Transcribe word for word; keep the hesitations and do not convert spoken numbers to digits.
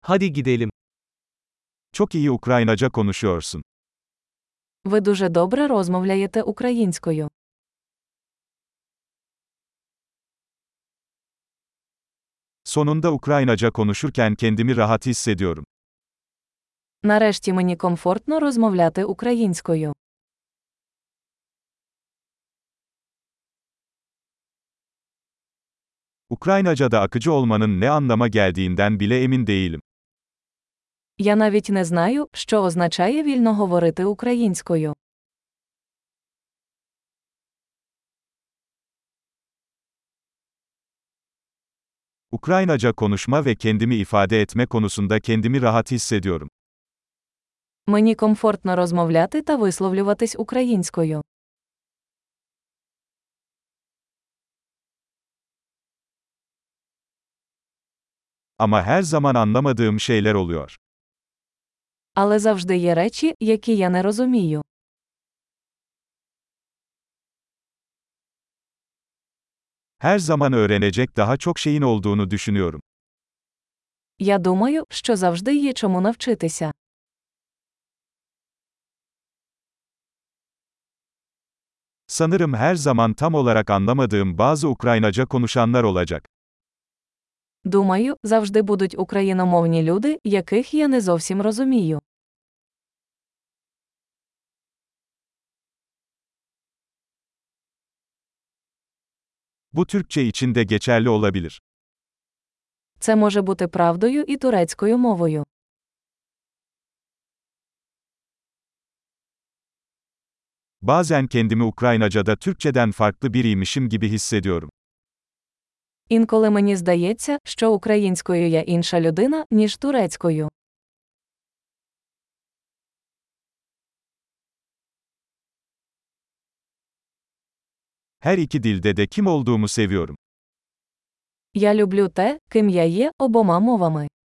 Hadi gidelim. Çok iyi Ukraynaca konuşuyorsun. Ви дуже добре розмовляєте українською. Sonunda Ukraynaca konuşurken kendimi rahat hissediyorum. Нарешті мені комфортно розмовляти українською. Ukraynaca'da akıcı olmanın ne anlama geldiğinden bile emin değilim. Я навіть не знаю, що означає вільно говорити українською. Ukraynaca konuşma ve kendimi ifade etme konusunda kendimi rahat hissediyorum. Мені комфортно розмовляти та висловлюватись українською. Ama her zaman anlamadığım şeyler oluyor. Але завжди є речі, які я не розумію. Her zaman öğrenecek daha çok şeyin olduğunu düşünüyorum. Я думаю, що завжди є чому навчитися. Sanırım her zaman tam olarak anlamadığım bazı Ukraynaca konuşanlar olacak. Думаю, завжди будуть україномовні люди, яких я не зовсім розумію. Bu Türkçe için de geçerli olabilir. Це може бути правдою і турецькою мовою. Bazen kendimi Ukraynaca'da Türkçeden farklı biriymişim gibi hissediyorum. Інколи мені здається, що українською я інша людина, ніж турецькою. Her iki dilde de kim olduğumu seviyorum. Я люблю те, ким я є, обома мовами.